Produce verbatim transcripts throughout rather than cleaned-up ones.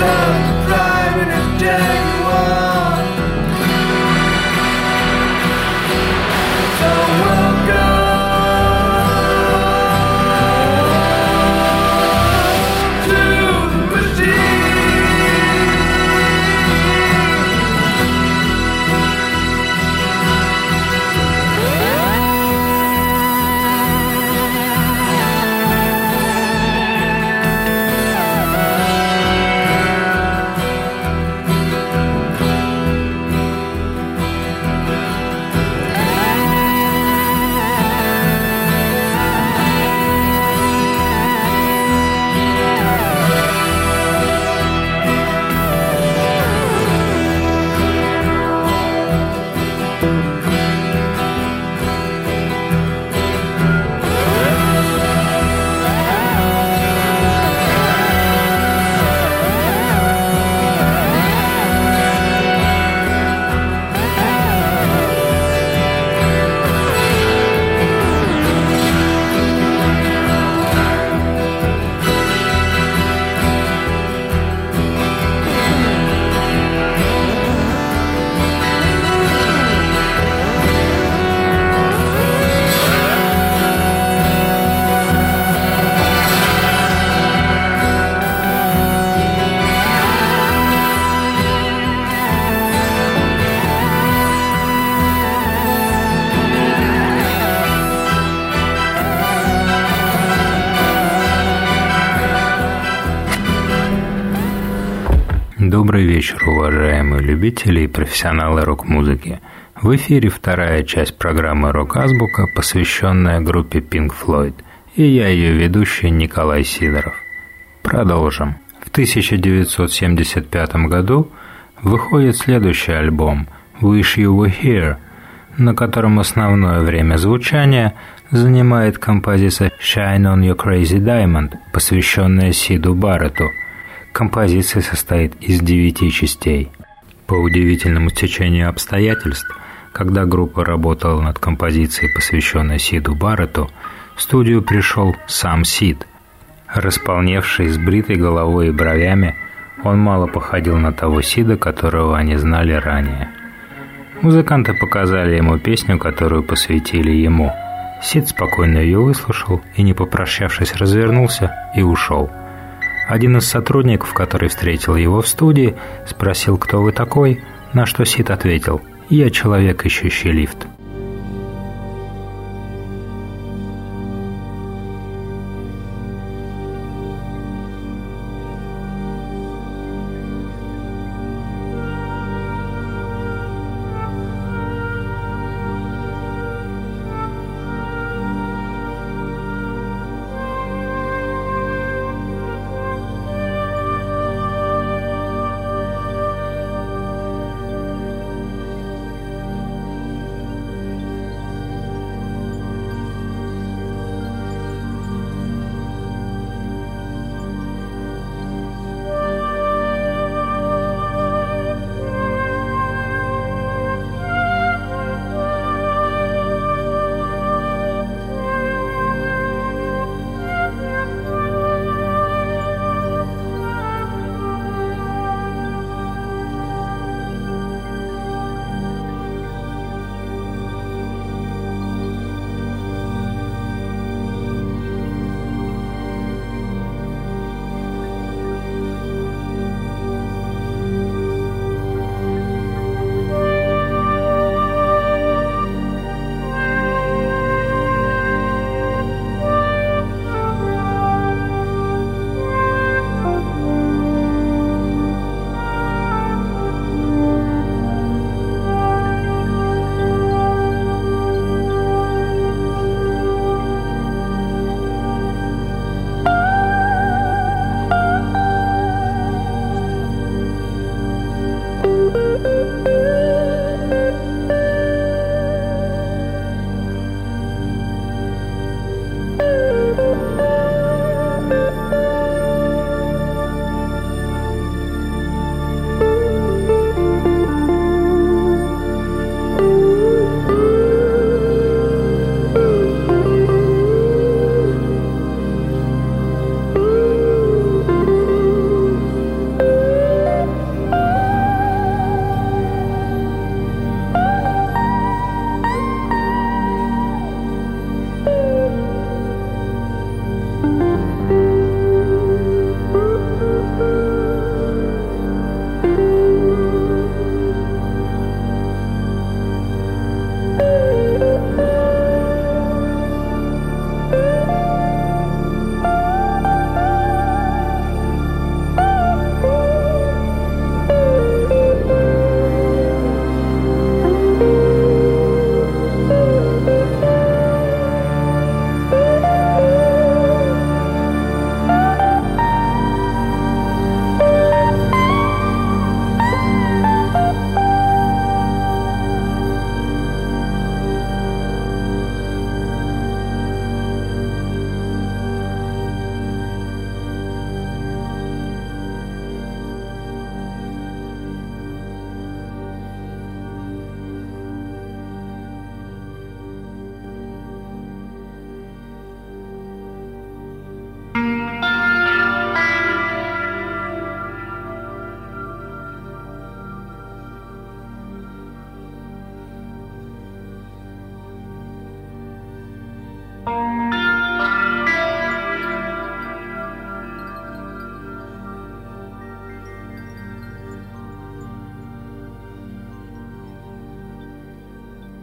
Добрый вечер, уважаемые любители и профессионалы рок-музыки. В эфире вторая часть программы «Рок-азбука», посвященная группе Pink Floyd, и я ее ведущий Николай Сидоров. Продолжим. В тысяча девятьсот семьдесят пятом году выходит следующий альбом «Wish You Were Here», на котором основное время звучания занимает композиция «Shine on Your Crazy Diamond», посвященная Сиду Барретту. Композиция состоит из девяти частей. По удивительному стечению обстоятельств, когда группа работала над композицией, посвященной Сиду Барретту, в студию пришел сам Сид. Располневший, с бритой головой и бровями, он мало походил на того Сида, которого они знали ранее. Музыканты показали ему песню, которую посвятили ему. Сид спокойно ее выслушал и, не попрощавшись, развернулся и ушел. Один из сотрудников, который встретил его в студии, спросил, кто вы такой, на что Сид ответил: «Я человек, ищущий лифт».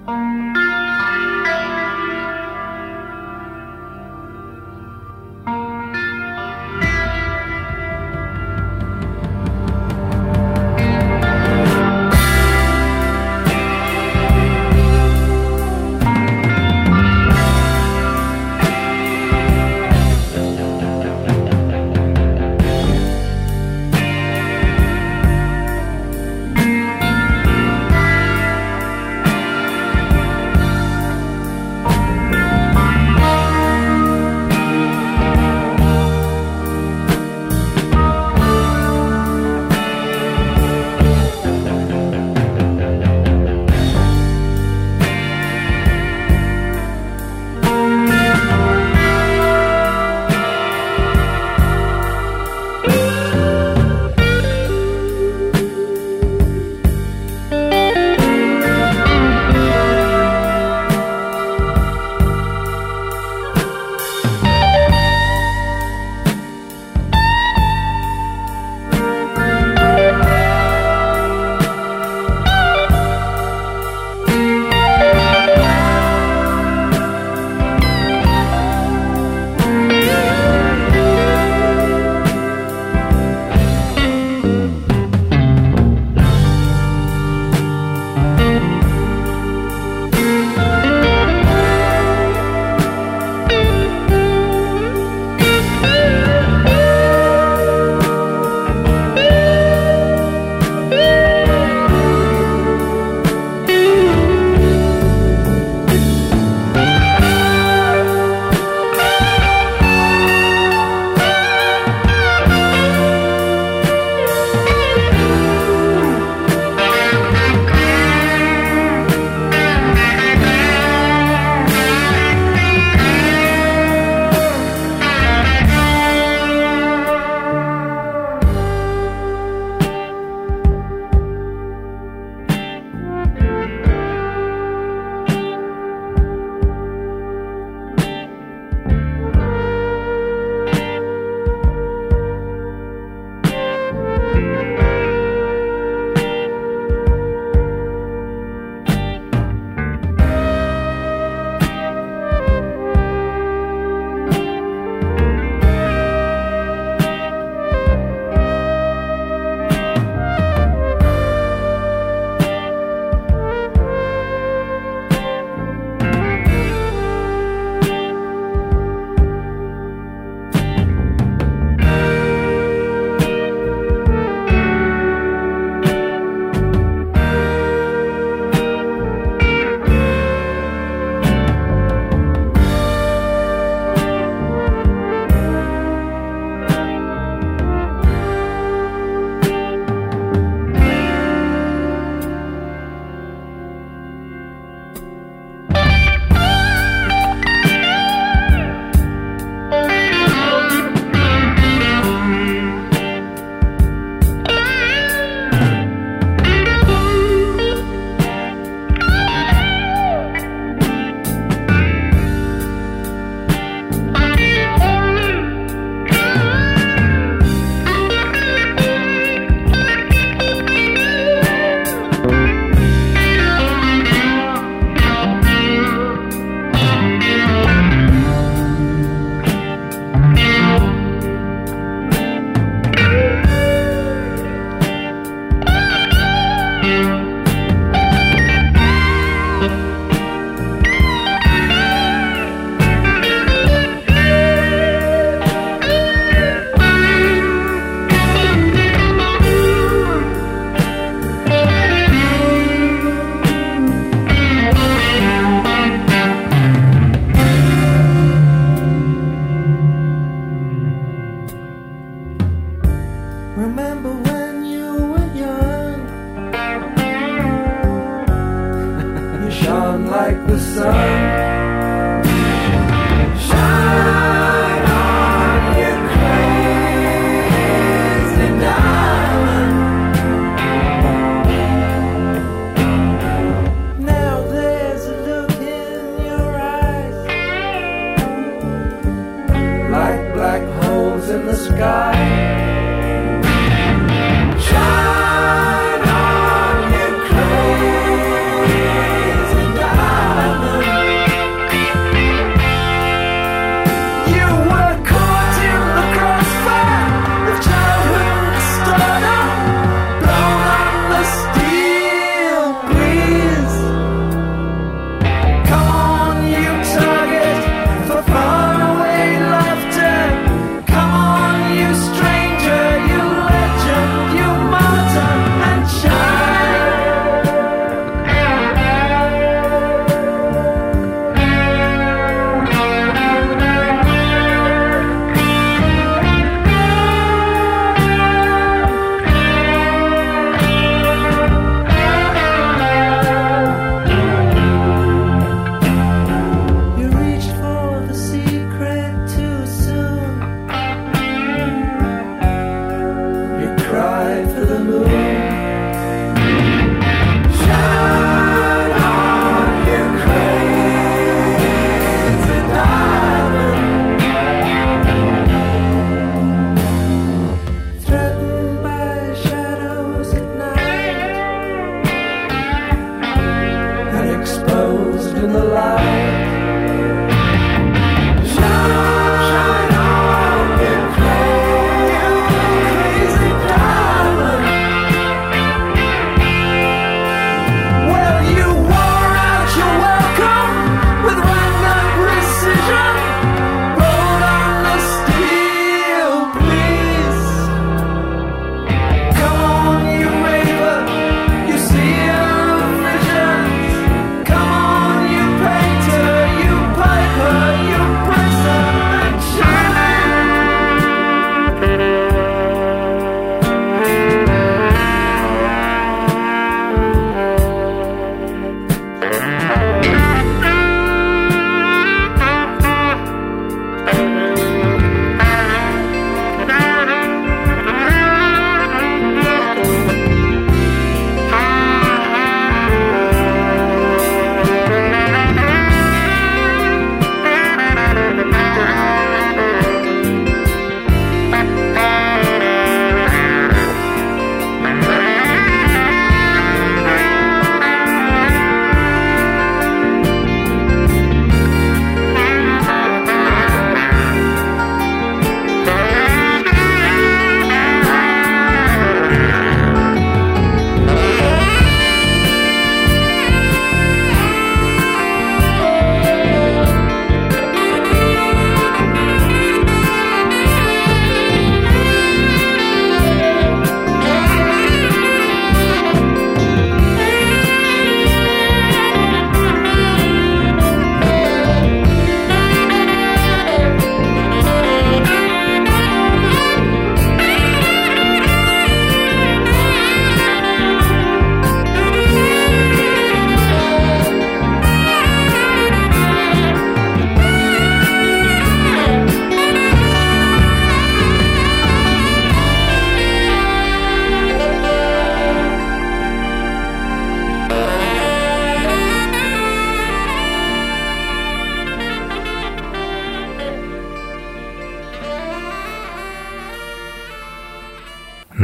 Shine on, you crazy diamond.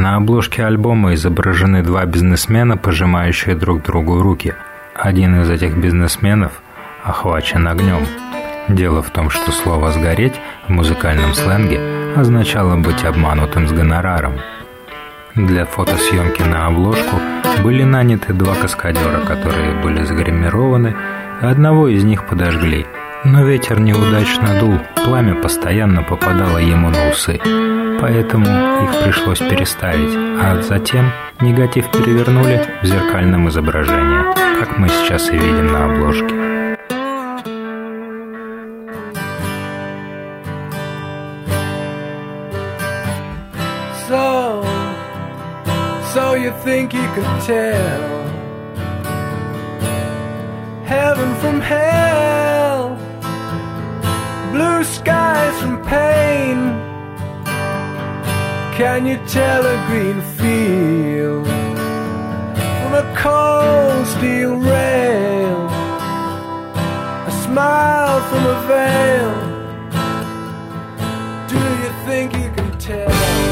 На обложке альбома изображены два бизнесмена, пожимающие друг другу руки. Один из этих бизнесменов охвачен огнем. Дело в том, что слово «сгореть» в музыкальном сленге означало быть обманутым с гонораром. Для фотосъемки на обложку были наняты два каскадера, которые были загримированы, и одного из них подожгли. Но ветер неудачно дул, пламя постоянно попадало ему на усы, поэтому их пришлось переставить, а затем негатив перевернули в зеркальном изображении, как мы сейчас и видим на обложке. So, so you think you could tell heaven from hell, blue skies from pain. Can you tell a green field from a cold steel rail, a smile from a veil? Do you think you can tell?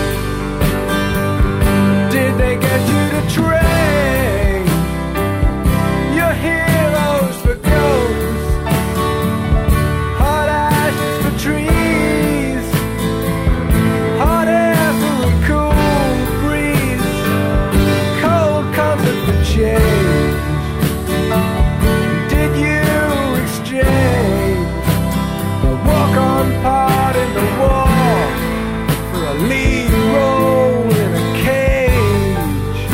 Did they get you to train your heroes for ghosts, hot ashes for trees, hot air for a cool breeze, cold comfort for change? Did you exchange a walk-on part in the war for a lead role in a cage?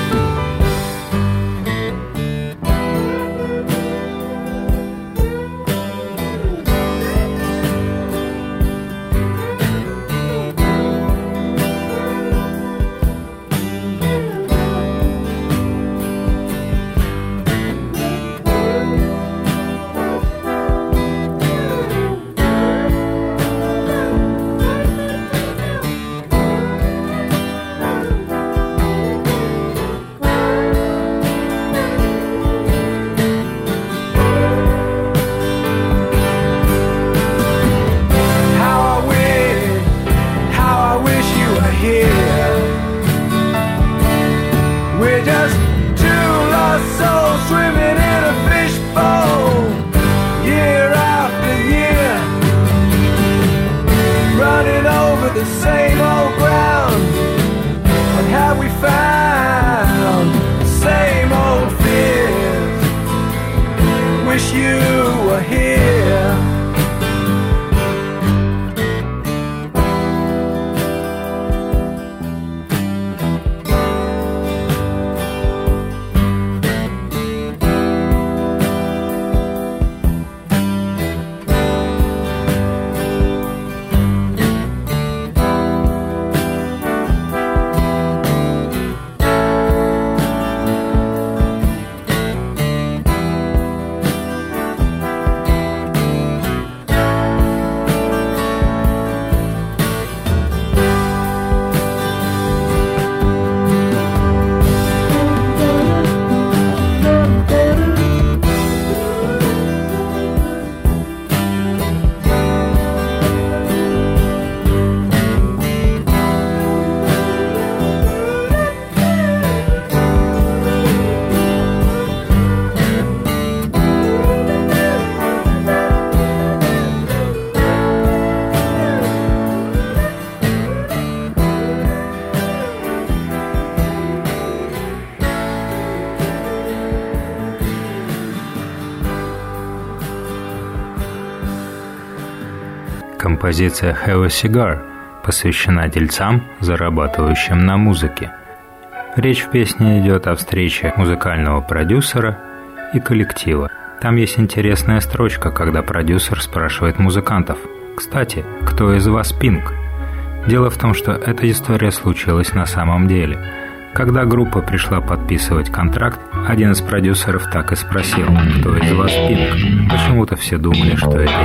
Композиция «Have a Cigar» посвящена дельцам, зарабатывающим на музыке. Речь в песне идет о встрече музыкального продюсера и коллектива. Там есть интересная строчка, когда продюсер спрашивает музыкантов: «Кстати, кто из вас Пинк?» Дело в том, что эта история случилась на самом деле. Когда группа пришла подписывать контракт, один из продюсеров так и спросил: «Кто из вас Пинк?» Почему-то все думали, что это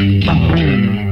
имя.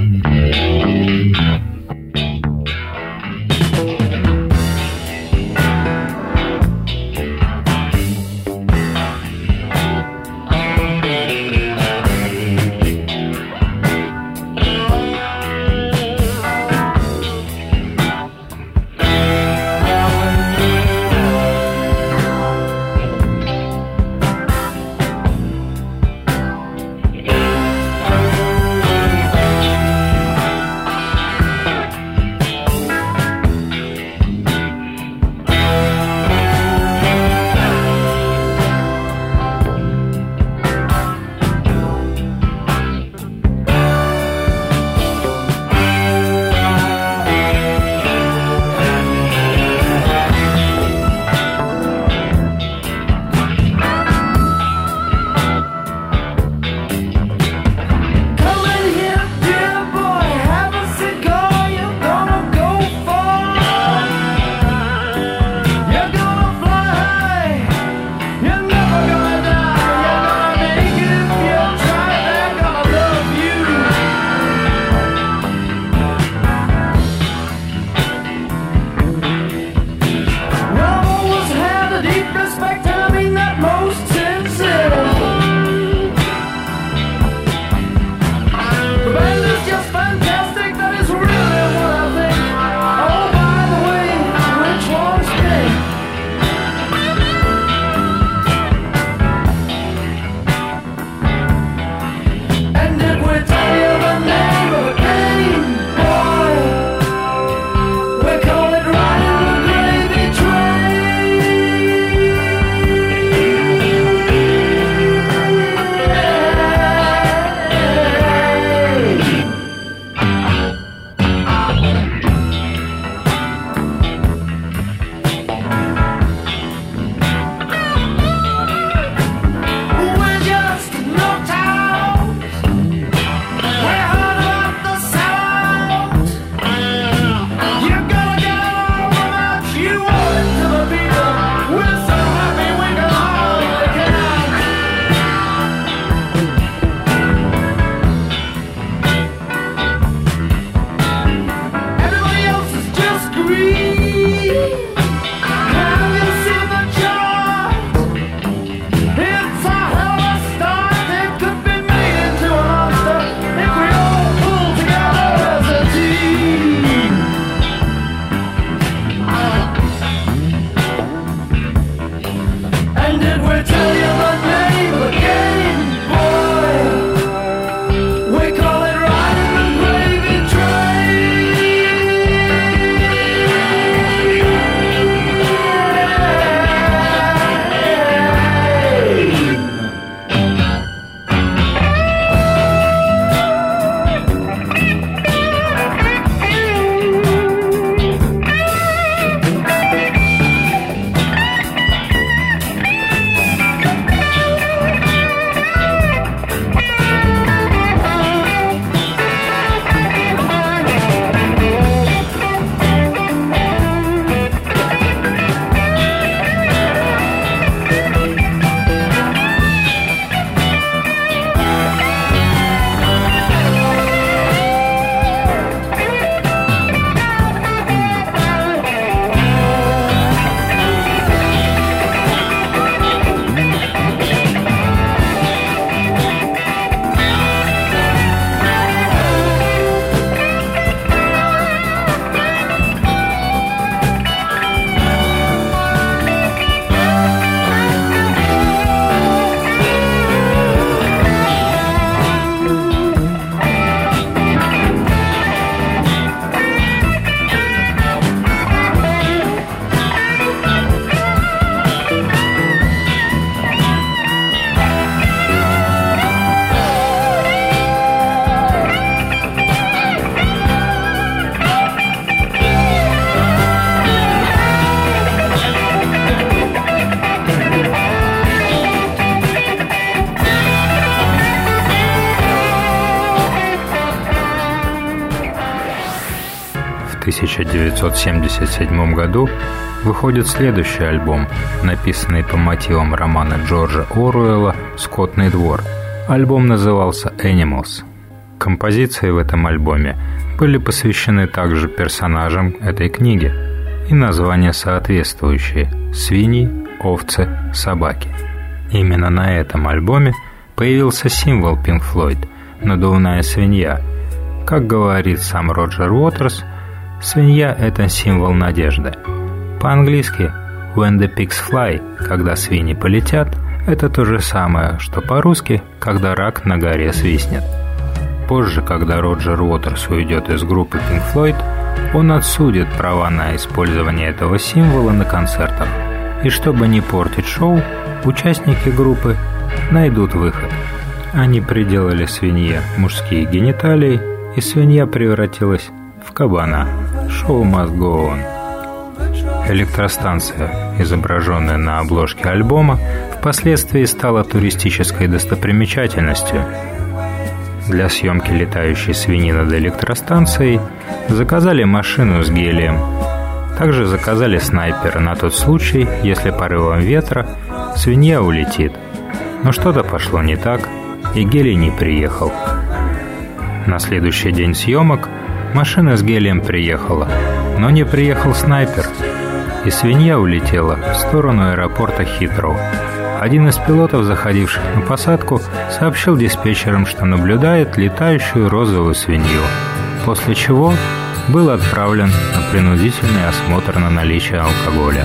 тысяча девятьсот семьдесят седьмом году выходит следующий альбом, написанный по мотивам романа Джорджа Оруэлла «Скотный двор». Альбом назывался «Animals». Композиции в этом альбоме были посвящены также персонажам этой книги, и названия соответствующие – свиньи, овцы, собаки. Именно на этом альбоме появился символ Pink Floyd – надувная свинья. Как говорит сам Роджер Уотерс, свинья – это символ надежды. По-английски «when the pigs fly» – когда свиньи полетят – это то же самое, что по-русски «когда рак на горе свистнет». Позже, когда Роджер Уотерс уйдет из группы Pink Floyd, он отсудит права на использование этого символа на концертах. И чтобы не портить шоу, участники группы найдут выход. Они приделали свинье мужские гениталии, и свинья превратилась в кабана. Шоу must go on. Электростанция, изображенная на обложке альбома, впоследствии стала туристической достопримечательностью. Для съемки летающей свиньи над электростанцией заказали машину с гелием. Также заказали снайпера на тот случай, если порывом ветра свинья улетит. Но что-то пошло не так, и гелий не приехал. На следующий день съемок машина с гелием приехала, но не приехал снайпер, и свинья улетела в сторону аэропорта Хитроу. Один из пилотов, заходивших на посадку, сообщил диспетчерам, что наблюдает летающую розовую свинью, после чего был отправлен на принудительный осмотр на наличие алкоголя.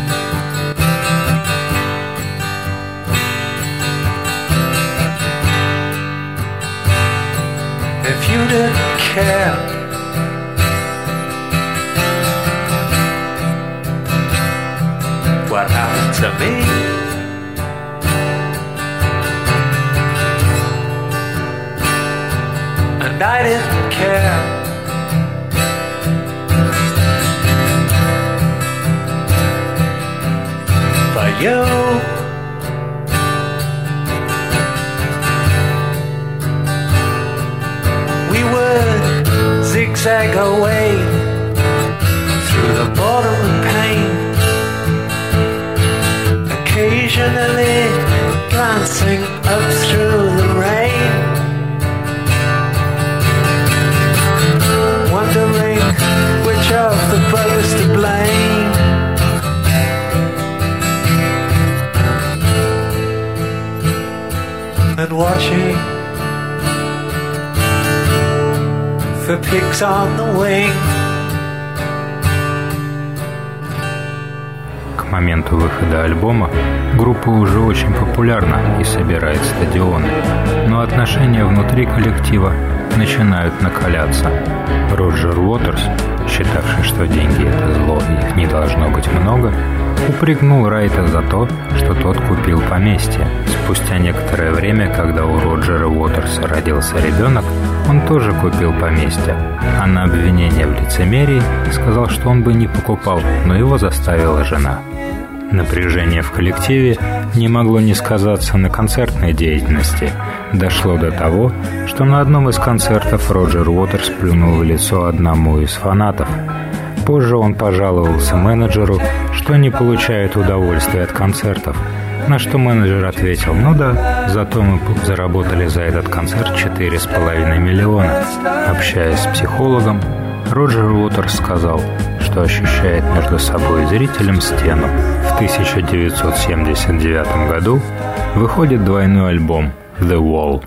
If you didn't care, what happened to me? And I didn't care. For you. We would zigzag away through the boredom and pain, occasionally glancing up through the rain, wondering which of the brothers to blame. And watching for pigs on the wing. К моменту выхода альбома группа уже очень популярна и собирает стадионы, но отношения внутри коллектива начинают накаляться. Роджер Уотерс, считавший, что деньги – это зло и их не должно быть много, упрекнул Райта за то, что тот купил поместье. Спустя некоторое время, когда у Роджера Уотерса родился ребенок, он тоже купил поместье, а на обвинение в лицемерии сказал, что он бы не покупал, но его заставила жена. Напряжение в коллективе не могло не сказаться на концертной деятельности. Дошло до того, что на одном из концертов Роджер Уотерс плюнул в лицо одному из фанатов. Позже он пожаловался менеджеру, что не получает удовольствия от концертов, на что менеджер ответил: «Ну да, зато мы заработали за этот концерт четыре с половиной миллиона». Общаясь с психологом, Роджер Уотерс сказал, что ощущает между собой и зрителем стену. В тысяча девятьсот семьдесят девятом году выходит двойной альбом «The Wall».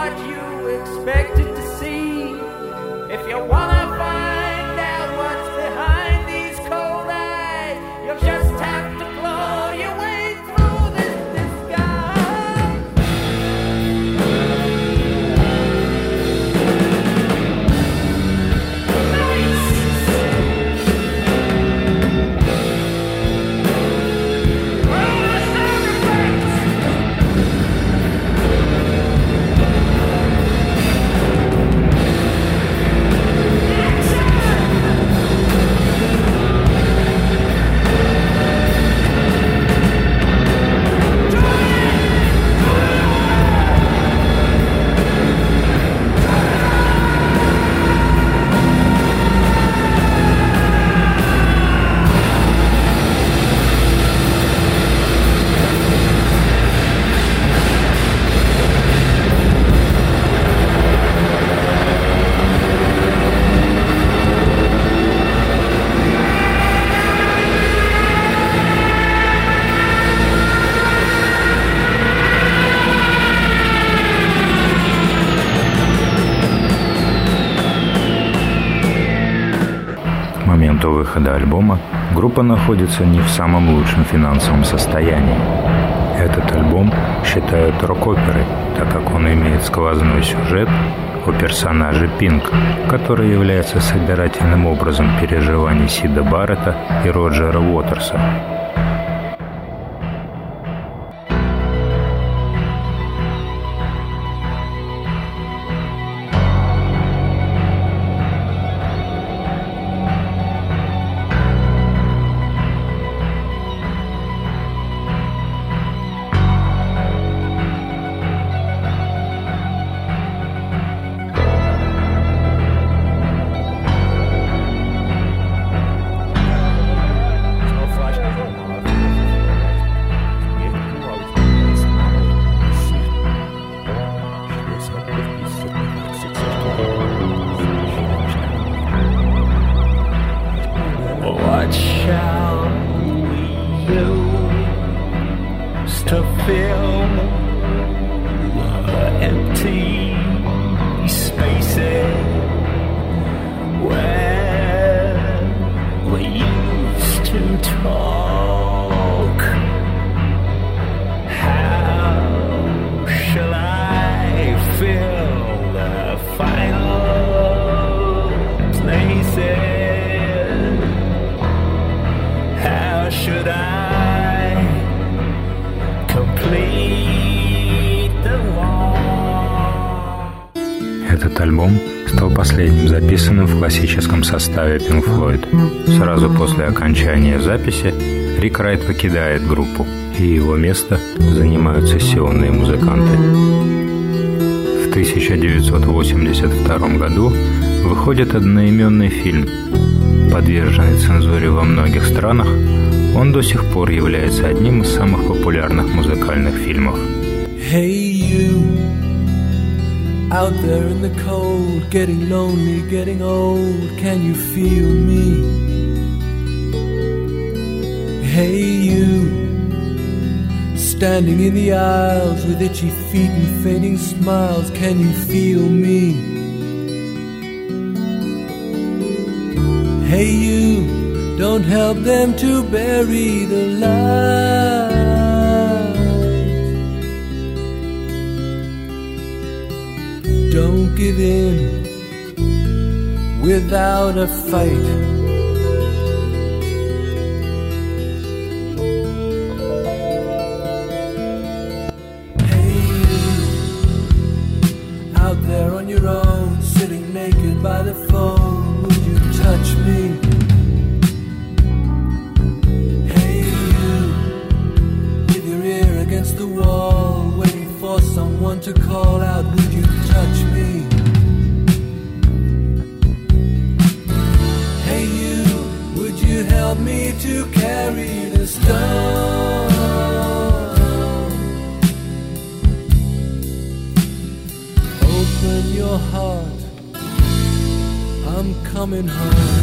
what you expected to see. If you wanna find out what's behind these cold eyes, you'll just have to claw your way through this disguise. К моменту выхода альбома группа находится не в самом лучшем финансовом состоянии. Этот альбом считают рок-оперой, так как он имеет сквозной сюжет о персонаже Пинк, который является собирательным образом переживаний Сида Барретта и Роджера Уотерса. What shall we use to fill the empty spaces where we used to talk? How shall I fill the final places? How should I complete the wall? Этот альбом стал последним записанным в классическом составе Pink Floyd. Сразу после окончания записи Рик Райт покидает группу, и его место занимают сессионные музыканты. В тысяча девятьсот восемьдесят втором году выходит одноименный фильм. Подверженный цензуре во многих странах, он до сих пор является одним из самых популярных музыкальных фильмов. Hey you, out there in the cold, getting lonely, getting old, can you feel me? Hey you, standing in the aisles with itchy feet and fading smiles, can you feel me? Hey you, don't help them to bury the light. Don't give in without a fight. Hey you, out there on your own, sitting naked by the phone, would you touch me? Hey you, with your ear against the wall, waiting for someone to call out, would you touch me? Hey you, would you help me to carry the stone? Open your heart, I'm coming home.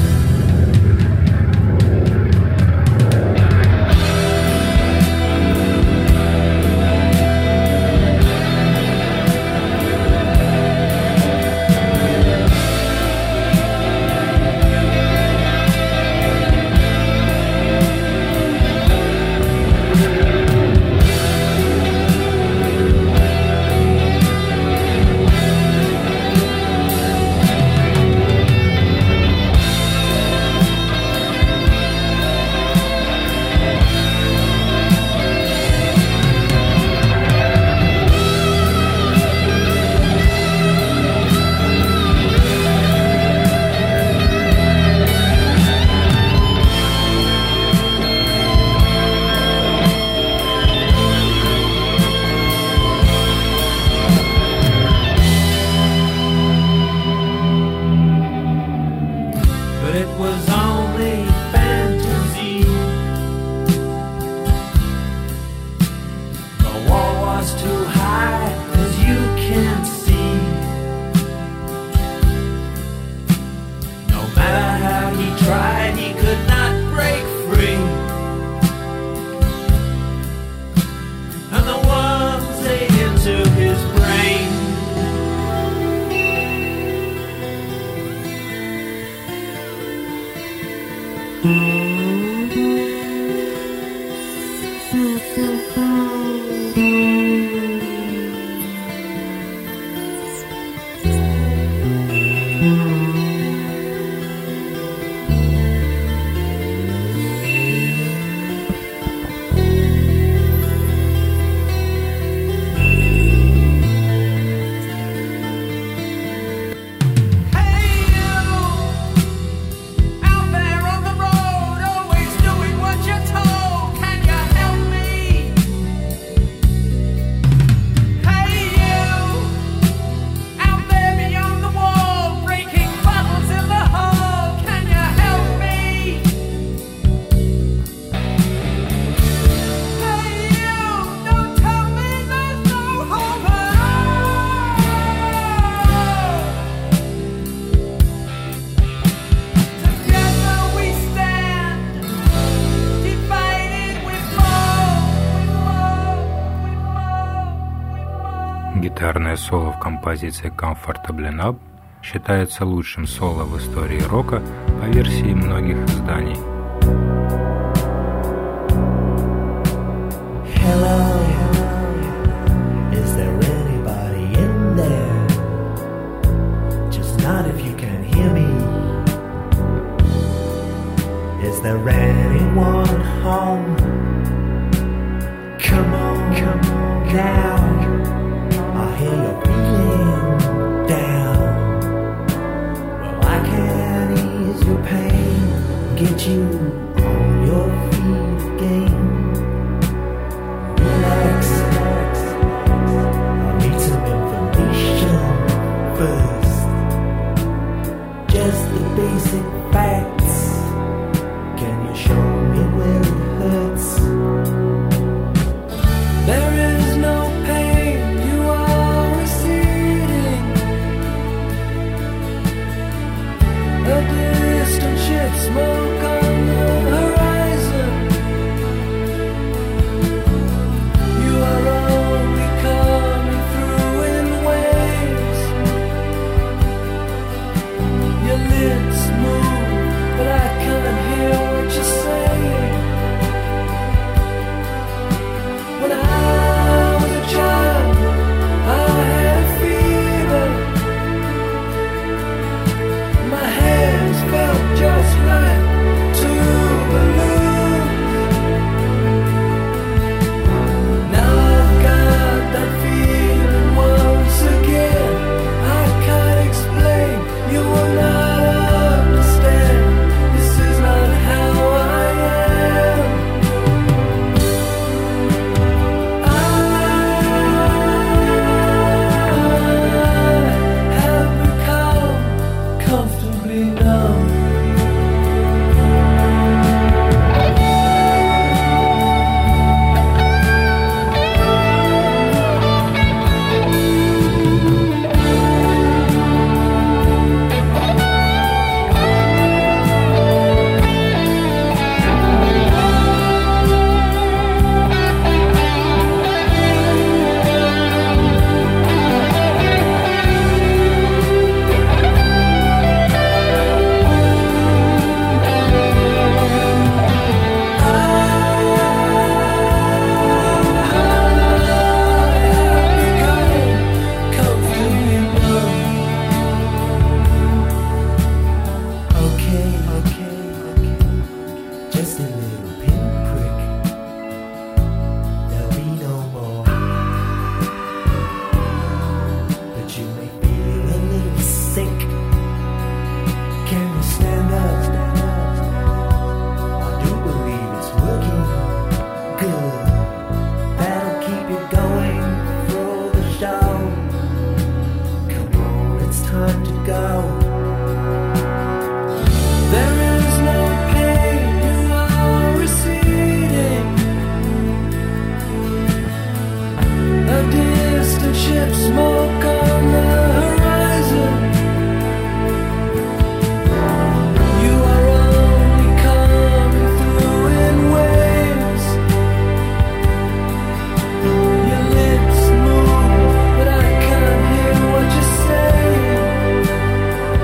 Гитарное соло в композиции «Comfortably Numb» считается лучшим соло в истории рока по версии многих изданий. Hello, is there anybody in there? Just not if you can hear me. Is there anyone home? Come on, come on now. I hear you're feeling down. Well, I can ease your pain, get you on your feet again. Relax, relax. I need some information first. Just the basic facts. Can you show me where it hurts? There is no pain, you are receding. A distant ship, smoke on the horizon. You are only coming through in waves. Your lips move, but I can't hear what you're saying. When I was a child, I had a fever. My hands felt just like two balloons. Now I've got that feeling once again. I can't explain, you will not understand. This is not how I am. I have become comfortably numb. Okay, okay, okay. Just a little pinprick. There'll be no more. But you may feel a little sick. Can you stand up? I do believe it's working good. That'll keep you going through the show. Come on, it's time to go. There is no pain, you are receding. A distant ship, smoke on the horizon. You are only coming through in waves. Your lips move, but I can't hear what you're saying.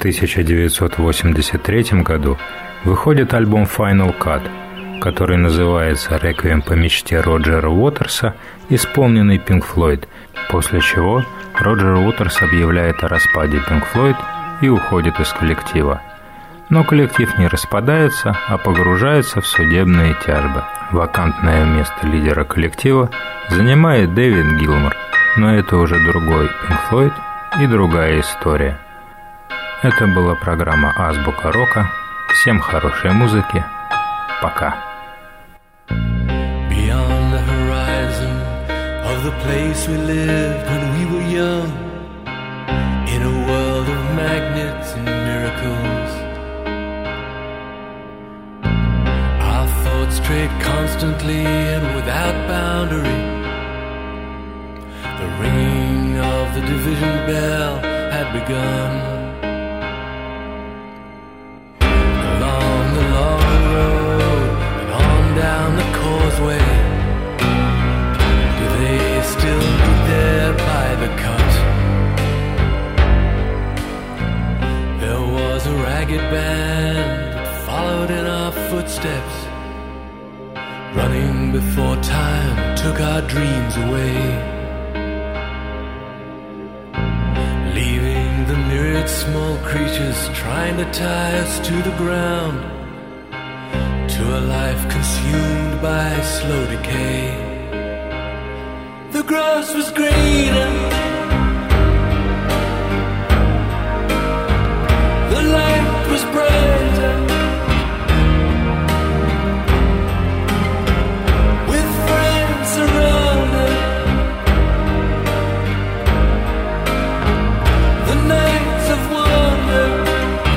тысяча девятьсот восемьдесят третьем году выходит альбом Final Cut, который называется «Реквием по мечте Роджера Уотерса», исполненный Pink Floyd, после чего Роджер Уотерс объявляет о распаде Pink Floyd и уходит из коллектива. Но коллектив не распадается, а погружается в судебные тяжбы. Вакантное место лидера коллектива занимает Дэвид Гилмор, но это уже другой Pink Floyd и другая история. Это была программа «Азбука рока». Всем хорошей музыки. Пока. Beyond the horizon of the place we lived when we were young, in a world of magnets and miracles, our thoughts strayed constantly and without boundary. The ringing of the division bell had begun. Down the causeway, do they still meet there by the cut? There was a ragged band that followed in our footsteps, running before time took our dreams away, leaving the myriad small creatures trying to tie us to the ground, to a life consumed by slow decay. The grass was greener, the light was brighter, with friends around us. The nights of wonder,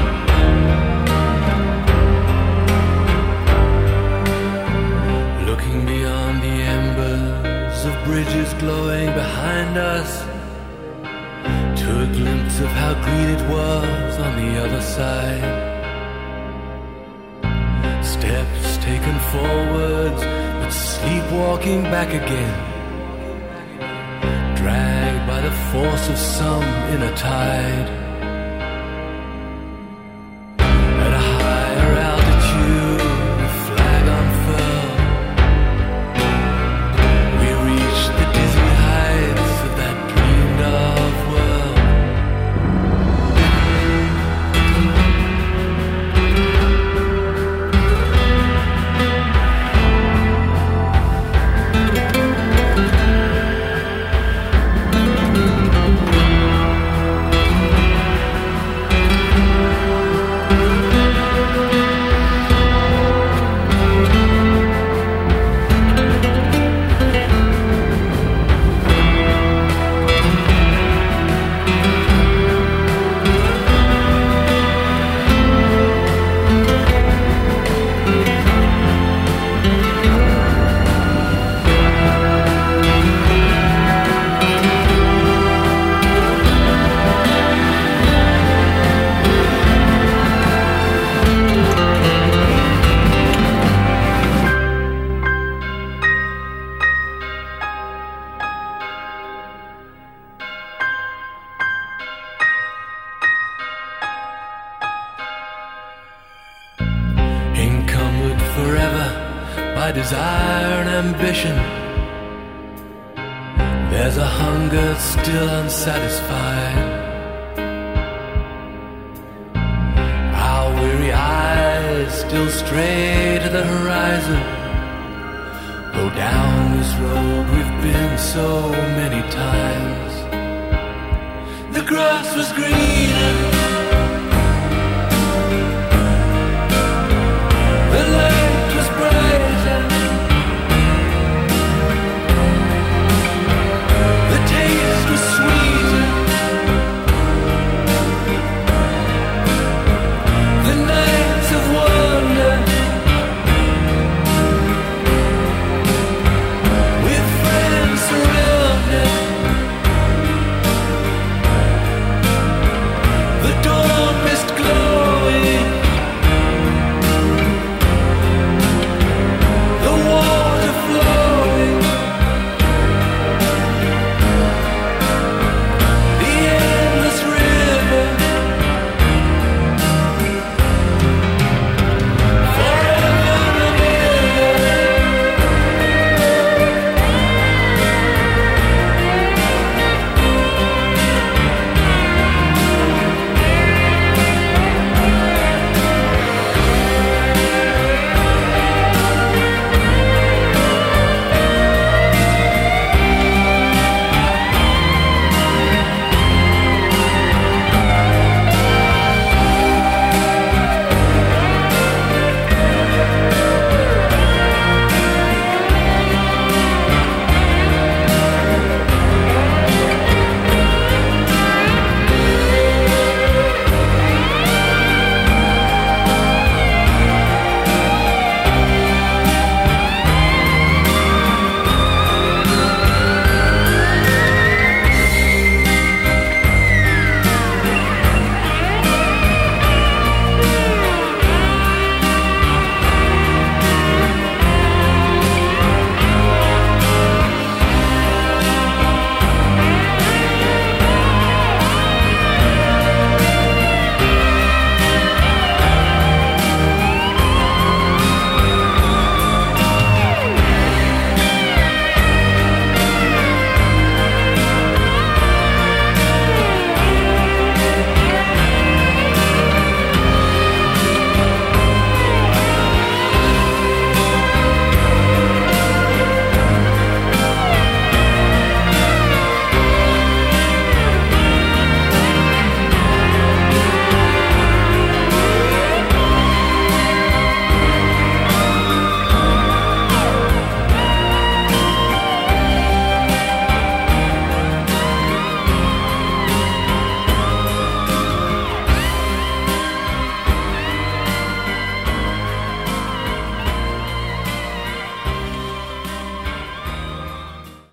bridges glowing behind us, to a glimpse of how green it was on the other side. Steps taken forwards, but sleepwalking back again, dragged by the force of some inner tide. At a higher altitude, the flag unfurled, desire and ambition. There's a hunger still unsatisfied. Our weary eyes still stray to the horizon. Go down this road we've been so many times. The grass was greener,